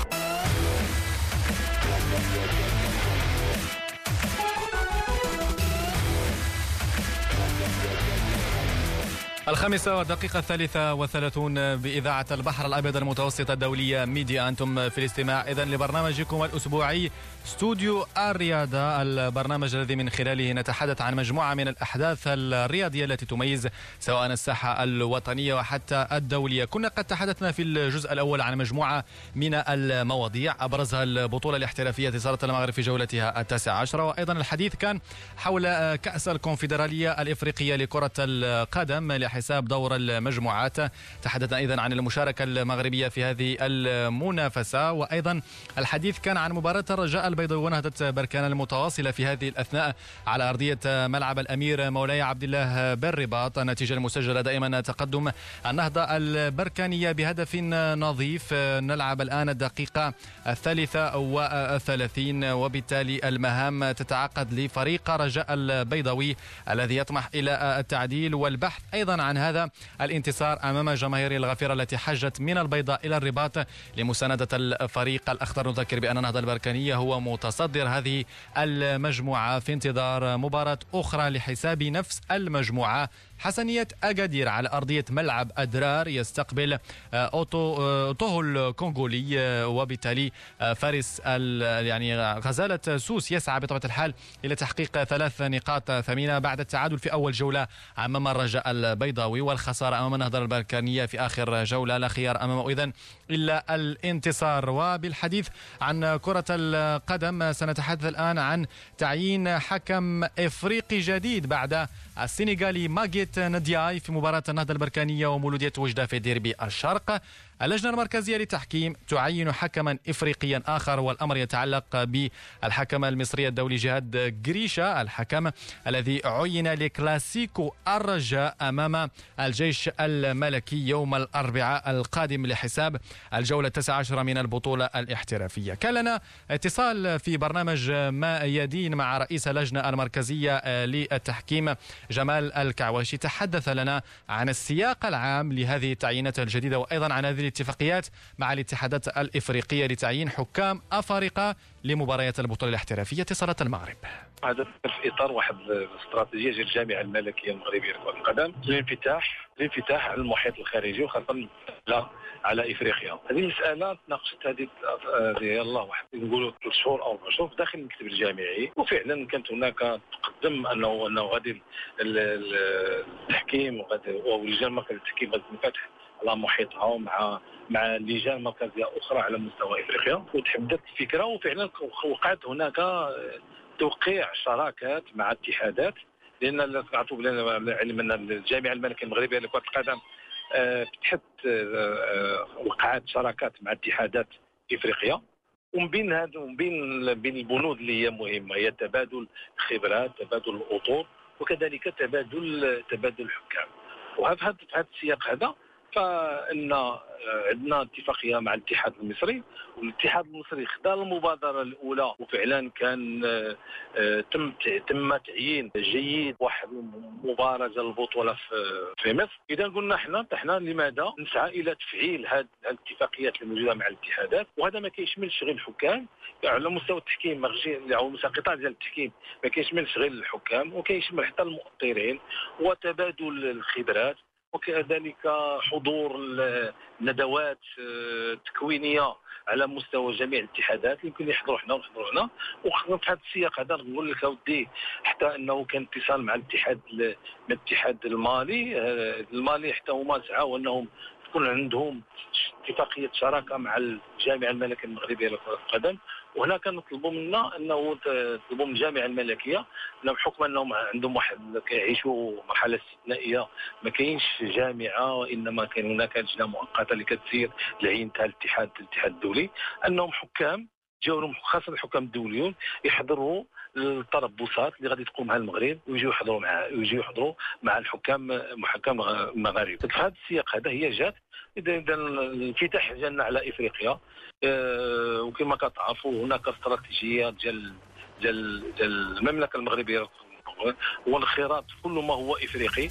الخامسة والدقيقة 33 بإذاعة البحر الأبيض المتوسط الدولية ميديا. أنتم في الاستماع إذن لبرنامجكم الأسبوعي استوديو الرياضة، البرنامج الذي من خلاله نتحدث عن مجموعة من الأحداث الرياضية التي تميز سواء الساحة الوطنية وحتى الدولية. كنا قد تحدثنا في الجزء الأول عن مجموعة من المواضيع أبرزها البطولة الاحترافية اتصالات المغرب في جولتها 19، وأيضا الحديث كان حول كأس الكونفدرالية الإفريقية لكرة القدم حساب دور المجموعات. تحدثنا أيضا عن المشاركة المغربية في هذه المنافسة، وأيضا الحديث كان عن مباراة الرجاء البيضاوي ونهضة بركان المتواصلة في هذه الأثناء على أرضية ملعب الأمير مولاي عبد الله بالرباط. النتيجة المسجلة دائما تقدم النهضة البركانية بهدف نظيف. نلعب الآن الدقيقة 33 وبالتالي المهام تتعقد لفريق الرجاء البيضاوي الذي يطمح إلى التعديل والبحث أيضا عن هذا الانتصار أمام جماهير الغفيرة التي حجت من البيضاء إلى الرباط لمساندة الفريق الأخضر. نذكر بأن النهضة البركانية هو متصدر هذه المجموعة في انتظار مباراة أخرى لحساب نفس المجموعة. حسنية أغادير على أرضية ملعب أدرار يستقبل أوتوه الكونغولي، وبالتالي فارس يعني غزالة سوس يسعى بطبيعة الحال إلى تحقيق 3 نقاط ثمينة بعد التعادل في أول جولة أمام الرجاء البيضاوي والخسارة أمام النهضة البركانية في آخر جولة. لا خيار أمامه إذن إلا الانتصار. وبالحديث عن كرة القدم سنتحدث الآن عن تعيين حكم إفريقي جديد بعد السنغالي ماجيت ندياي في مباراة النهضة البركانية ومولودية وجدة في ديربي الشرق. اللجنة المركزية للتحكيم تعين حكما إفريقيا آخر، والأمر يتعلق بالحكم المصري الدولي جهاد قريشة، الحكم الذي عين لكلاسيكو الرجاء أمام الجيش الملكي يوم الأربعاء القادم لحساب الجولة 19 من البطولة الاحترافية. كان لنا اتصال في برنامج ما يدين مع رئيس اللجنة المركزية للتحكيم جمال الكعواشي، تحدث لنا عن السياق العام لهذه التعيينات الجديدة وأيضا عن هذه الاتفاقيات مع الاتحادات الإفريقية لتعيين حكام أفارقة لمباريات البطولة الاحترافية اتصالات المغرب. هذا في إطار واحد الاستراتيجية ديال الجامعة الملكية المغربية لكرة القدم الانفتاح على المحيط الخارجي وخاصة على افريقيا. هذه المساله تناقشت هذه يلاه واحد نقولوا 3 شهور او 4 شهور داخل المكتب الجامعي، وفعلا كانت هناك تقدم انه غادي التحكيم ولجان مركز التحكيم غادي تنفتح على محيطها مع لجان مركزيه اخرى على مستوى افريقيا، وتحدثت الفكره وفعلا وقعت هناك توقيع شراكات مع اتحادات، لان تعرفوا علم ان الجامعه الملكيه المغربيه لكره القدم فتحت وقعت شراكات مع اتحادات افريقيا، ومن بين البنود اللي هي مهمه هي تبادل الخبرات، تبادل الاطر، وكذلك تبادل الحكام. وفي هذا السياق هذا فان عندنا اتفاقيه مع الاتحاد المصري، والاتحاد المصري خدا المبادره الاولى، وفعلا كان تم تعيين جيد واحد مباراه ديال البطوله في مصر. اذا قلنا احنا لماذا نسعى الى تفعيل هذه الاتفاقيات الموجوده مع الاتحادات، وهذا ما كيشملش غير الحكام على مستوى التحكيم او قطاع ديال التحكيم، ما كيشملش غير الحكام وكيشمل حتى المؤطرين وتبادل الخبرات، وكذلك حضور ندوات تكوينيه على مستوى جميع الاتحادات يمكن يحضروا هنا ونحضروا هنا. وفي هذا السياق هذا نقول لك اودي حتى انه كان اتصال مع الاتحاد المالي حتى هما سعوا انهم تكون عندهم اتفاقيه شراكه مع الجامعه الملكيه المغربيه لكره القدم. وهنا كنطلبوا منا انه تطلبوا من الجامعه الملكيه انهم بحكم انهم عندهم واحد كيعيشوا مرحله استثنائيه، ما كاينش جامعه وانما كاين هناك لجنه مؤقته اللي كتسير لعينتها الاتحاد الدولي، انهم حكام جاوهم خاصه الحكام الدوليون يحضروا التربصات اللي غادي تقوم بها المغرب ويجيو يحضروا مع الحكام المغاربه. في هذا السياق هذا هي جات اذا الانفتاح ديالنا على افريقيا، وكما كتعرفوا هناك استراتيجيه ديال المملكه المغربيه والانخراط في كل ما هو افريقي.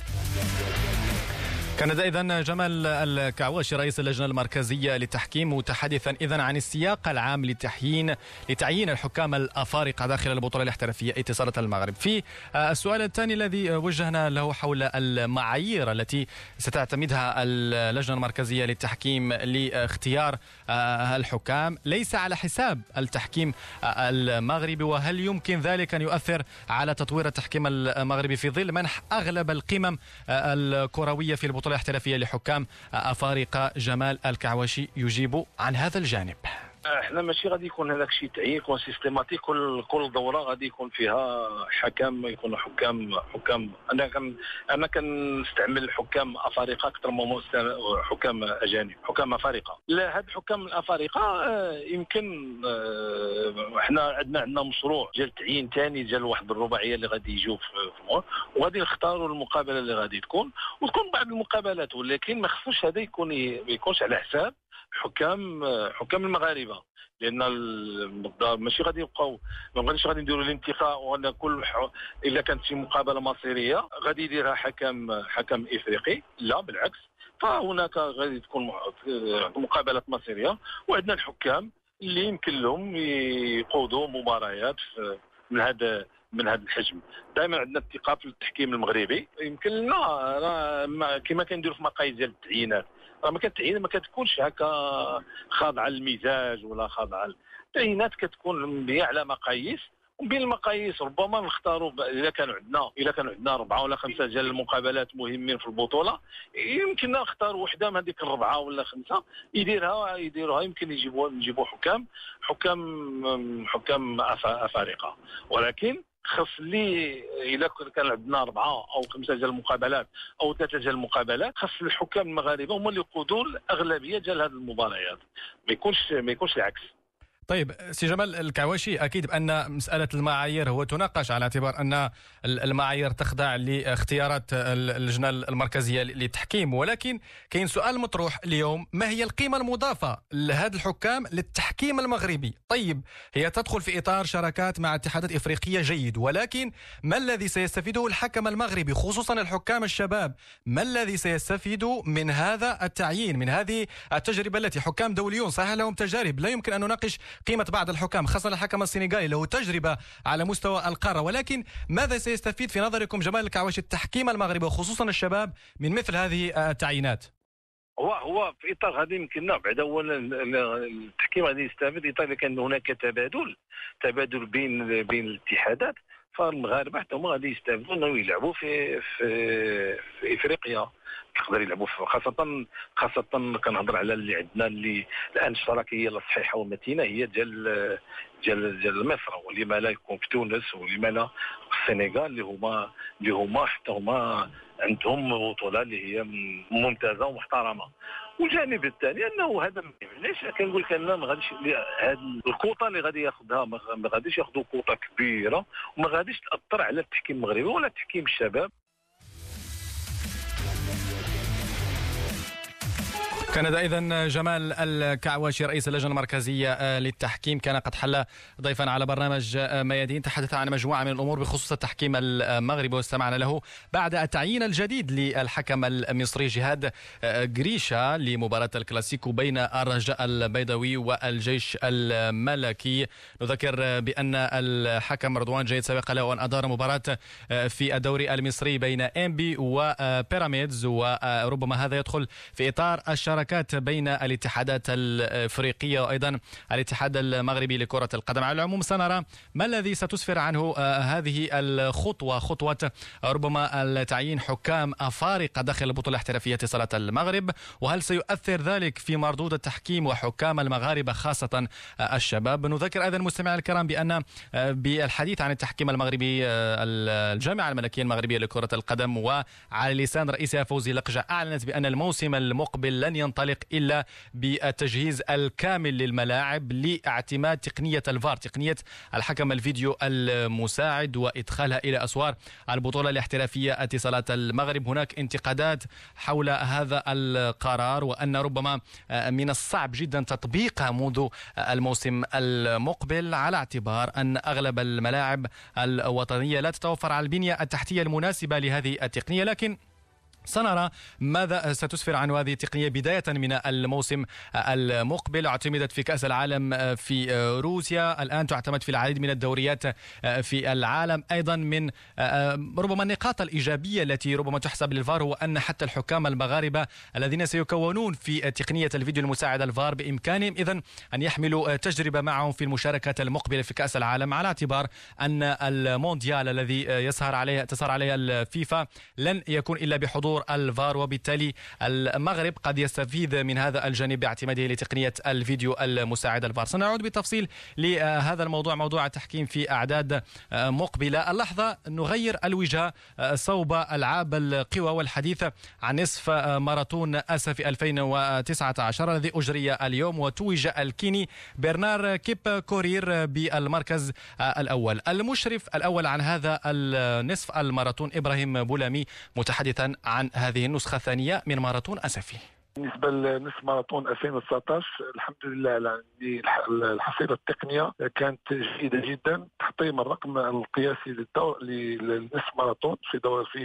كان إذن جمال الكعواشي رئيس اللجنة المركزية للتحكيم متحدثا إذن عن السياق العام لتعيين الحكام الأفارقة داخل البطولة الاحترافية اتصالات المغرب. في السؤال الثاني الذي وجهنا له حول المعايير التي ستعتمدها اللجنة المركزية للتحكيم لاختيار الحكام ليس على حساب التحكيم المغربي، وهل يمكن ذلك أن يؤثر على تطوير التحكيم المغربي في ظل منح أغلب القمم الكروية في البطولة الاحترافية لحكام أفارقة؟ جمال الكعواشي يجيب عن هذا الجانب. احنا ماشي غادي يكون هذاك الشيء تعيين يكون سيستيماتيك، كل دوره غادي يكون فيها يكونوا حكام. انا كنستعمل الحكام افارقه اكثر من حكام اجانب، حكام افارقه. لا، هاد الحكام الافارقه يمكن احنا عندنا مشروع ديال تعيين ثاني ديال واحد الرباعيه اللي غادي يجيو في وغادي نختاروا المقابله اللي غادي تكون بعض المقابلات، ولكن ما خصوش هذا يكونش على حساب حكام المغاربه، لان ماشي غادي يبقاو ما غاديش نديروا الانتقاء وغادي كل الا كانت شي مقابله مصيريه غادي يديرها حكم افريقي. لا بالعكس، فهناك غادي تكون مقابلات مصيريه، وعندنا الحكام اللي يمكن لهم يقودوا مباريات من هذا الحجم. دائما عندنا الثقه في التحكيم المغربي، يمكن لنا كما كنديروا في مقاييس ديال التعيينات، ما كتكونش هكا خاضعه للمزاج ولا خاضعه. التعيينات كتكون مبنيه على مقاييس، وبين المقاييس ربما نختاروا اذا كانوا عندنا 4 ولا 5 ديال المقابلات مهمين في البطوله، يمكن نختار وحده من هذيك 4 ولا 5 يديروها يمكن نجيبوا حكام افارقه. ولكن خاص لي الا كان عندنا 4 أو 5 ديال المقابلات او 3 ديال المقابلات، خاص الحكام المغاربه هما اللي يقودوا الاغلبيه ديال هذه المباريات، ما يكونش العكس. طيب سي جمال الكعواشي، أكيد بأن مسألة المعايير هو تناقش على اعتبار أن المعايير تخضع لاختيارات اللجنة المركزية للتحكيم، ولكن كاين سؤال مطروح اليوم: ما هي القيمة المضافة لهذا الحكام للتحكيم المغربي؟ طيب هي تدخل في إطار شراكات مع اتحادات إفريقية، جيد، ولكن ما الذي سيستفيده الحكم المغربي خصوصا الحكام الشباب؟ ما الذي سيستفيد من هذا التعيين، من هذه التجربة التي حكام دوليون صحيح لهم تجارب، لا يمكن أن نناقش قيمة بعض الحكام خاصة الحكم السنغالي له تجربة على مستوى القارة، ولكن ماذا سيستفيد في نظركم جمال الكعواشي التحكيم المغربي وخصوصا الشباب من مثل هذه التعيينات؟ هو في اطار هذا يمكننا بعد اولا التحكيم غادي يستفيد اطار كان هناك تبادل بين الاتحادات، فالمغاربه حتى هما غادي يستافدوا انهم يلعبوا في افريقيا، يقدر يلعبوا خاصه كنهضر على اللي عندنا اللي الان الشراكه الصحيحه والمتينه هي ديال مصر، ولما لا يكون في تونس، ولما لا في السنغال اللي هما حتى هما عندهم بطوله اللي هي ممتازه ومحترمه. والجانب الثاني انه هذا علاش كنقول لك انا ما غاديش هذه الكوطه اللي غادي ياخذها ما غاديش ياخذوا كوطه كبيره وما غاديش تاثر على التحكيم المغربي ولا تحكيم الشباب. كان إذن جمال الكعواشي رئيس اللجنة المركزية للتحكيم كان قد حل ضيفا على برنامج ميادين، تحدث عن مجموعة من الأمور بخصوص التحكيم المغربي واستمعنا له بعد التعيين الجديد للحكم المصري جهاد قريشة لمباراة الكلاسيكو بين الرجاء البيضاوي والجيش الملكي. نذكر بأن الحكم رضوان جيد سبق له أن أدار مباراة في الدوري المصري بين إنبي وبيراميدز، وربما هذا يدخل في إطار الشراكات بين الاتحادات الافريقيه وايضا الاتحاد المغربي لكره القدم. على العموم سنرى ما الذي ستسفر عنه هذه الخطوه، خطوه ربما التعيين حكام افارقه داخل البطوله الاحترافيه صاله المغرب، وهل سيؤثر ذلك في مردود التحكيم وحكام المغاربه خاصه الشباب. نذكر ايضا المستمعين الكرام بان بالحديث عن التحكيم المغربي الجامعه الملكيه المغربيه لكره القدم وعلى لسان رئيسها فوزي لقجة اعلنت بان الموسم المقبل لن ينطلق إلا بالتجهيز الكامل للملاعب لاعتماد تقنية الفار، تقنية الحكم الفيديو المساعد، وإدخالها إلى أسوار البطولة الاحترافية اتصالات المغرب. هناك انتقادات حول هذا القرار وأن ربما من الصعب جدا تطبيقها منذ الموسم المقبل، على اعتبار أن أغلب الملاعب الوطنية لا تتوفر على البنية التحتية المناسبة لهذه التقنية. لكن سنرى ماذا ستسفر عن هذه التقنية بداية من الموسم المقبل. اعتمدت في كأس العالم في روسيا، الآن تعتمد في العديد من الدوريات في العالم. أيضا من ربما النقاط الإيجابية التي ربما تحسب للفار هو أن حتى الحكام المغاربة الذين سيكونون في تقنية الفيديو المساعد الفار بإمكانهم إذن أن يحملوا تجربة معهم في المشاركات المقبلة في كأس العالم، على اعتبار أن المونديال الذي تسهر عليه الفيفا لن يكون إلا بحضور الفار، وبالتالي المغرب قد يستفيد من هذا الجانب باعتماده لتقنية الفيديو المساعد الفار. سنعود بالتفصيل لهذا الموضوع، موضوع التحكيم في أعداد مقبلة. اللحظة نغير الوجهة صوب ألعاب القوى والحديث عن نصف ماراثون آسيا 2019 الذي أجري اليوم، وتوج الكيني برنار كيب كورير بالمركز الأول. المشرف الأول عن هذا النصف الماراثون إبراهيم بولامي متحدثا عن هذه النسخة الثانية من ماراثون أسفي. بالنسبة لنصف ماراثون 2019 الحمد لله على الحصيلة التقنية كانت جيدة جدا. تحطيم الرقم القياسي للنصف ماراثون في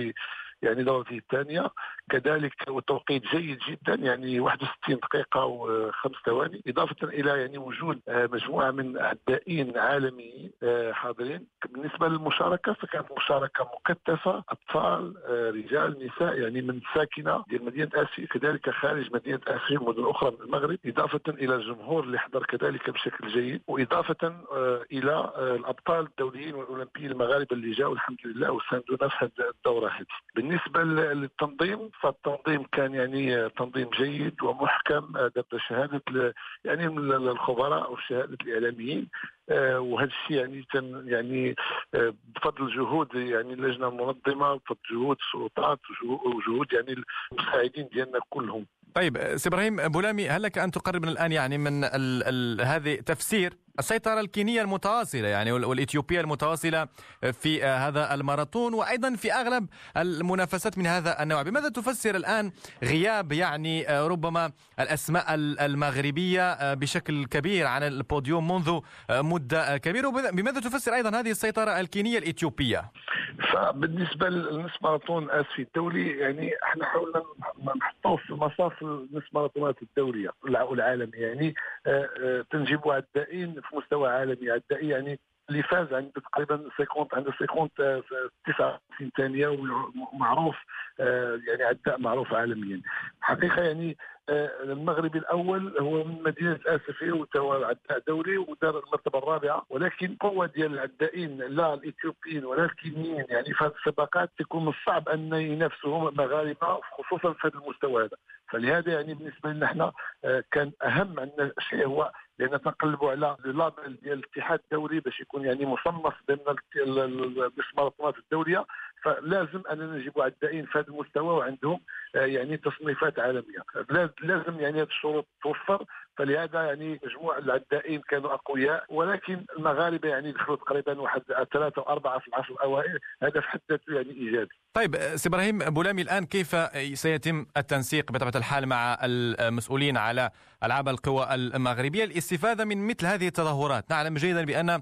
دورته الثانية، كذلك والتوقيت جيد جدا، يعني 61 دقيقة و5 ثواني، إضافة إلى وجود مجموعة من عدائين عالميين حاضرين. بالنسبة للمشاركة فكانت مشاركة مكثفة، أطفال رجال نساء، من ساكنة ديال مدينة آسيا كذلك خارج مدينة آسيا ومدن أخرى من المغرب، إضافة إلى الجمهور اللي حضر كذلك بشكل جيد، وإضافة إلى الأبطال الدوليين والأولمبيين المغاربة اللي جاءوا الحمد لله وساندونا في هذه الدورة هذه. بالنسبة للتنظيم فالتنظيم كان تنظيم جيد ومحكم، بشهادة من الخبراء وشهادة الإعلاميين، وهذا الشيء بفضل جهود اللجنة المنظمة، بفضل جهود السلطات وجهود المساعدين ديالنا كلهم. طيب سي إبراهيم بولامي، هل لك أن تقرب الآن من هذه تفسير السيطرة الكينية المتواصلة والإثيوبية المتواصلة في هذا الماراثون وأيضا في أغلب المنافسات من هذا النوع؟ بماذا تفسر الآن غياب ربما الأسماء المغربية بشكل كبير عن البوديوم منذ مدة كبيرة؟ بماذا تفسر أيضا هذه السيطرة الكينية الإثيوبية؟ فبالنسبة للنصف ماراثون آسيا الدولي احنا حاولنا نحطوه في مصاف النصف ماراثونات الدولية والعالمية، تنجيب عدائين في مستوى عالمي، عدائي اللي فاز عنده تقريبا 59 ثانية ومعروف عداء معروف عالميا. حقيقة يعني المغربي الأول هو من مدينة آسفية وهو عداء دولي ودار المرتبة الرابعة، ولكن القوة ديال العدائين لا الإثيوبيين ولا الكينيين يعني في هذه السباقات تكون من الصعب أن ينافسهم مغاربة خصوصا في هذا المستوى هذا. فلهذا يعني بالنسبة لنا احنا كان أهم عندنا شيء هو لأن تنقلبوا على اللابل ديال الاتحاد الدولي باش يكون يعني مصنف ضمن الماراطونات الدولية، فلازم أننا نجيبوا عدائين في هذا المستوى وعندهم يعني تصنيفات عالمية. لازم يعني هذه الشروط توفر، فلهذا يعني مجموع العدائين كانوا أقوياء، ولكن المغاربة يعني دخلوا تقريبا واحد 3 أو 4 في العشر الأوائل، هذا في حد ذاته يعني إيجابي. طيب سي إبراهيم بولامي، الآن كيف سيتم التنسيق بطبيعة الحال مع المسؤولين على ألعاب القوى المغربية الاستفادة من مثل هذه التظاهرات؟ نعلم جيدا بأن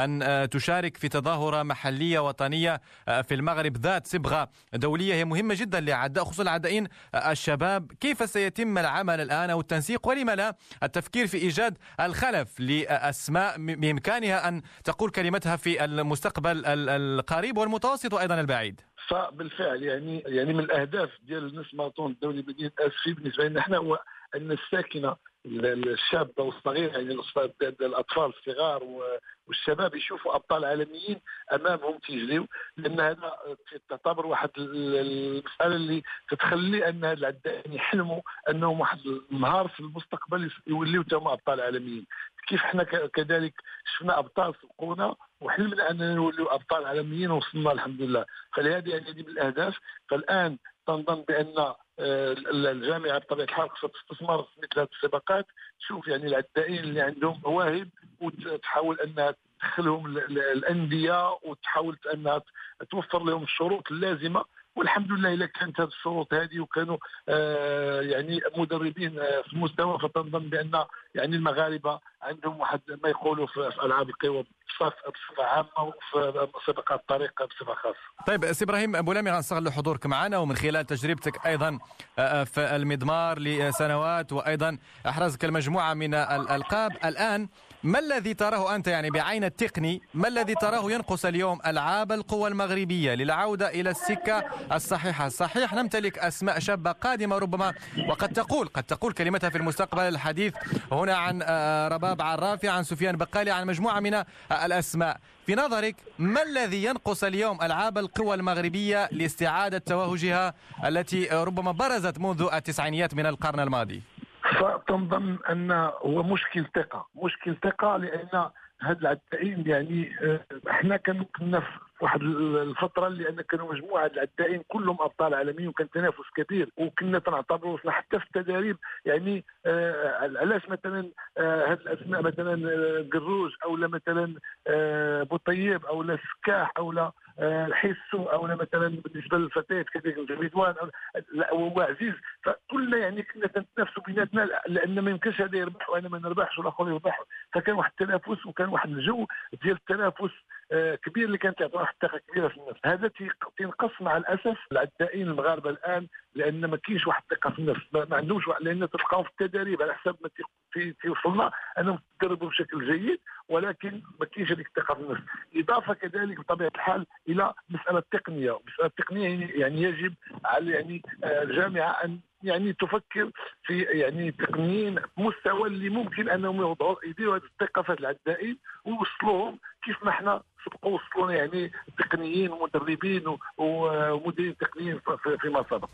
تشارك في تظاهرة محلية وطنية في المغرب ذات صبغة دولية هي مهمة جدا لأعداء خصوصا العدائين الشباب. كيف سيتم العمل الآن أو التنسيق، ولما لا التفكير في إيجاد الخلف لأسماء بإمكانها أن تقول كلمتها في المستقبل القريب والمتوسط وأيضا البعيد؟ فبالفعل يعني من الأهداف ديال النصف ماراثون الدولي مدينة آسفي بالنسبة لنا احنا هو أن الساكنة الشابة والصغيرة يعني الأطفال الصغار والشباب يشوفوا أبطال عالميين أمامهم تيجريو، لأن هذا تعتبر واحد المسألة اللي تتخلي أن العدائين يحلموا أنهم واحد النهار في المستقبل يوليوا تما أبطال عالميين. كيف احنا كذلك شفنا أبطال سبقونا وحلمنا أننا نوليوا أبطال عالميين ووصلنا الحمد لله. فلهذه يعني هذه من الأهداف. فالآن تنظن بأن الجامعة بطبيعة الحال خصها تستثمر في مثل هذه السباقات، تشوف يعني العدائين اللي عندهم مواهب وتحاول أنها تدخلهم الأندية وتحاول أنها توفر لهم الشروط اللازمة. والحمد لله إذا كانت هذه الشروط هذه وكانوا يعني مدربين في المستوى، فتنظن بأن يعني المغاربة عندهم واحد ما يقولوا في ألعاب القوى بصفة عامة وفي سباقات الطريق بصفة خاصة. طيب سي إبراهيم بولامي، غنستغل حضورك معنا ومن خلال تجربتك أيضا في المضمار لسنوات وأيضا أحرزك المجموعة من الألقاب. الآن ما الذي تراه أنت يعني بعين التقني، ما الذي تراه ينقص اليوم ألعاب القوى المغربية للعودة إلى السكة الصحيحة؟ صحيح نمتلك أسماء شابة قادمة ربما وقد تقول كلمتها في المستقبل. الحديث هنا عن رباب عرافي، عن سفيان بقالي، عن مجموعة من الأسماء. في نظرك ما الذي ينقص اليوم ألعاب القوى المغربية لاستعادة توهجها التي ربما برزت منذ التسعينيات من القرن الماضي؟ فتنظن أن هو مشكل ثقة لأن هاد العدائين يعني احنا كنا في واحد الفتره اللي ان كانوا مجموعه العدائين كلهم ابطال عالميين وكان تنافس كبير وكنا تنعتبروا حتى في التدريب يعني علاش مثلا هاد الاسماء مثلا قروج او مثلا بوطيب او السكاح او الحسو او مثلا بالنسبه للفتيات كذلك الجميدوان هو عزيز، فكلنا يعني كنا نتنافسوا بيناتنا لان ما يمكنش هذا يربح وانا ما نربحش والاخر يربح، فكان واحد التنافس وكان واحد الجو ديال التنافس كبير اللي كانت تعطي واحد الثقه كبيره في النفس. هذا تنقص مع الاسف العدائين المغاربه الان لان ما كاينش واحد الثقه في النفس، ما عندهمش لان تلقاهم في التدريب على حسب ما توصلنا انهم تدربوا بشكل جيد ولكن ما كاينش هذيك الثقه في النفس. اضافه كذلك بطبيعه الحال الى مساله التقنيه، يعني يجب على يعني الجامعه ان يعني تفكر في يعني تقنيين مستوى اللي ممكن انهم يديروا هذه الثقه في العدائين ويوصلوهم كيف ما احنا سبقوا وصلونا يعني تقنيين ومدربين ومديرين تقنيين فيما سبق.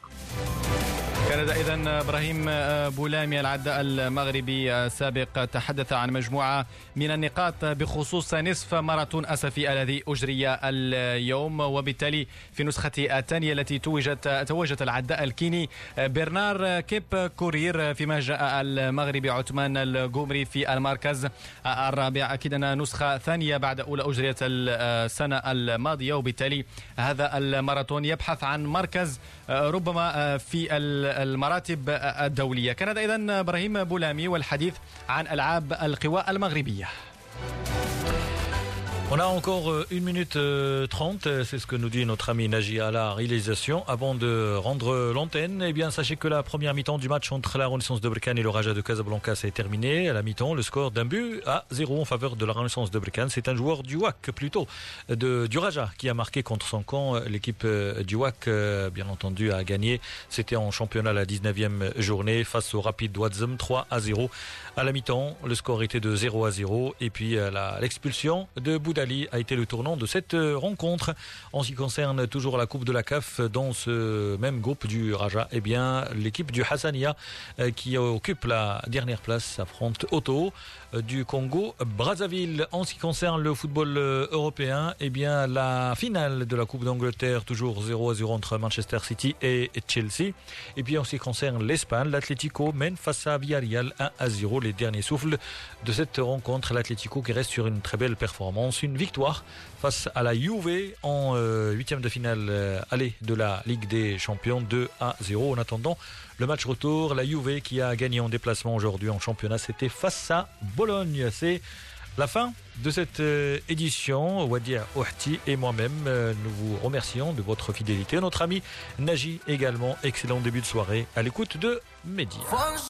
كان إذن إبراهيم بولامي العداء المغربي السابق تحدث عن مجموعة من النقاط بخصوص نصف ماراثون أسفي الذي أجري اليوم، وبالتالي في نسخة الثانية التي توجت العداء الكيني برنار كيب كورير، فيما جاء المغربي عثمان القمري في المركز الرابع. أكيد أن نسخة ثانية بعد أولى أجريت السنة الماضية، وبالتالي هذا الماراثون يبحث عن مركز ربما في المراتب الدولية. كان هذا إذن إبراهيم بولامي والحديث عن ألعاب القوى المغربية. On a encore 1 minute 30, c'est ce que nous dit notre ami Naji à la réalisation. Avant de rendre l'antenne, eh bien, sachez que la première mi-temps du match entre la Renaissance de Berkane et le Raja de Casablanca s'est terminée. À la mi-temps, le score d'un but à 0 en faveur de la Renaissance de Berkane. C'est un joueur du WAC plutôt, du Raja, qui a marqué contre son camp. L'équipe du WAC, bien entendu, a gagné. C'était en championnat la 19e journée face au Rapid Ouazzem, 3-0. À la mi-temps, le score était de 0-0. Et puis l'expulsion de Boudali a été le tournant de cette rencontre. En ce qui concerne toujours la Coupe de la CAF, dans ce même groupe du Raja, eh bien, l'équipe du Hassania qui occupe la dernière place affronte Auto du Congo Brazzaville. En ce qui concerne le football européen, eh bien, la finale de la Coupe d'Angleterre, toujours 0-0 entre Manchester City et Chelsea. Et puis en ce qui concerne l'Espagne, l'Atlético mène face à Villarreal 1-0. Les derniers souffles de cette rencontre, l'Atlético qui reste sur une très belle performance, une victoire face à la Juve en 8e de finale aller de la Ligue des Champions, 2-0. En attendant le match retour, la Juve qui a gagné en déplacement aujourd'hui en championnat, c'était face à Bologne. C'est la fin de cette édition. Wadia Ouhti et moi-même, nous vous remercions de votre fidélité. Notre ami Naji également, excellent début de soirée à l'écoute de Média.